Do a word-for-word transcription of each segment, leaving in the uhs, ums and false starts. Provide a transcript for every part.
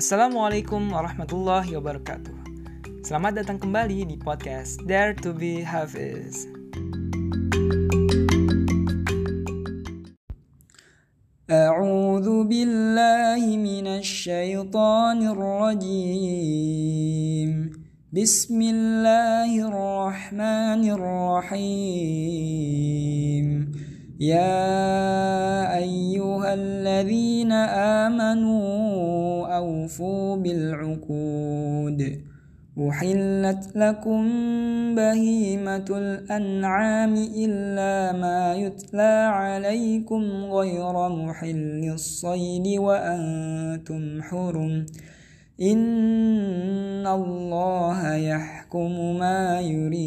Assalamualaikum warahmatullahi wabarakatuh. Selamat datang kembali di podcast Dare to be Hafiz. A'udzu billahi minasy syaithanir rajim. Bismillahirrahmanirrahim. Ya ayyuhalladzina amanu awfu bil'uqud. Uhillat lakum bahimatul an'ami illa ma yutla alaikum ghayra muhillis saydi wa antum hurum. Innallaha yahkumu ma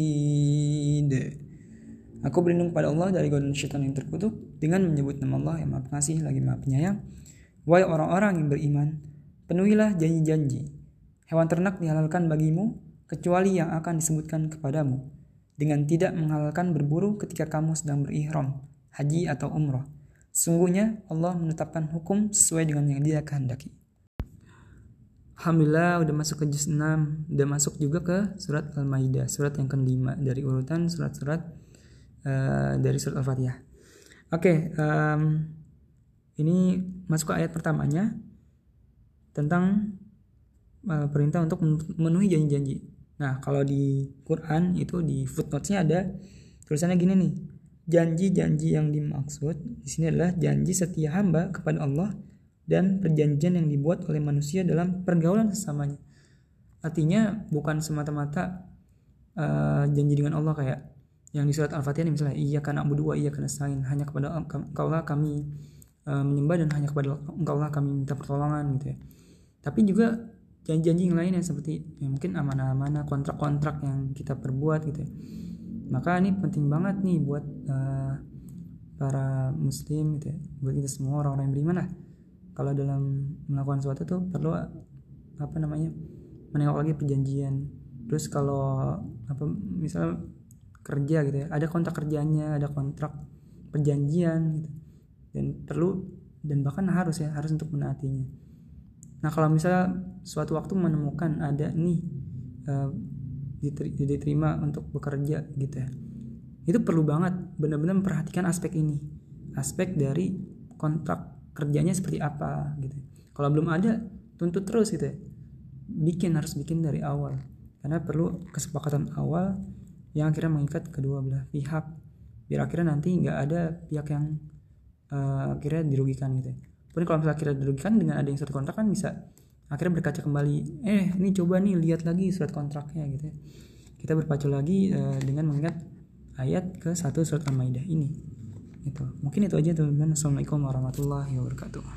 yurid. Aku berlindung pada Allah dari godaan syaitan yang terkutuk dengan menyebut nama Allah yang Maha Pengasih lagi Maha Penyayang. Wahai orang-orang yang beriman, penuhilah janji-janji. Hewan ternak dihalalkan bagimu kecuali yang akan disebutkan kepadamu, dengan tidak menghalalkan berburu ketika kamu sedang berihram, haji atau umrah. Sungguhnya Allah menetapkan hukum sesuai dengan yang Dia kehendaki. Alhamdulillah udah masuk ke juz enam, udah masuk juga ke surat Al-Maidah, surat yang kelima dari urutan surat-surat uh, dari surat Al-Fatihah. Oke, okay, um, ini masuk ke ayat pertamanya tentang uh, perintah untuk memenuhi janji-janji. Nah, kalau di Quran itu di footnotes-nya ada tulisannya gini nih. Janji-janji yang dimaksud di sini adalah janji setia hamba kepada Allah dan perjanjian yang dibuat oleh manusia dalam pergaulan sesamanya. Artinya bukan semata-mata uh, janji dengan Allah kayak yang di surat Al-Fatihah ini misalnya iyyaka na'budu wa iyyaka nasta'in, hanya kepada Engkaulah kami uh, menyembah dan hanya kepada Engkaulah kami minta pertolongan gitu ya. Tapi juga janji-janji yang lain yang seperti ya mungkin amanah-amanah, kontrak-kontrak yang kita perbuat gitu ya. Maka ini penting banget nih buat uh, para muslim gitu ya, buat kita semua orang-orang yang beriman lah. Kalau dalam melakukan sesuatu tuh perlu apa namanya menengok lagi perjanjian. Terus kalau apa misal kerja gitu ya, ada kontrak kerjanya, ada kontrak perjanjian gitu. Dan perlu dan bahkan harus ya harus untuk menaatinya. Nah kalau misalnya suatu waktu menemukan ada nih uh, diterima untuk bekerja gitu ya, itu perlu banget benar-benar memperhatikan aspek ini, aspek dari kontrak kerjanya seperti apa gitu. Kalau belum ada, tuntut terus gitu ya. Bikin harus bikin dari awal. Karena perlu kesepakatan awal yang akhirnya mengikat kedua belah pihak. Biar akhirnya nanti nggak ada pihak yang uh, akhirnya dirugikan gitu ya. Pun kalau misalnya akhirnya dirugikan dengan ada yang surat kontrak kan bisa akhirnya berkaca kembali. Eh, ini coba nih lihat lagi surat kontraknya gitu ya. Kita berpacu lagi uh, dengan mengingat ayat ke satu surat Al-Maidah ini. Itu. Mungkin itu aja teman-teman. Assalamualaikum warahmatullahi wabarakatuh.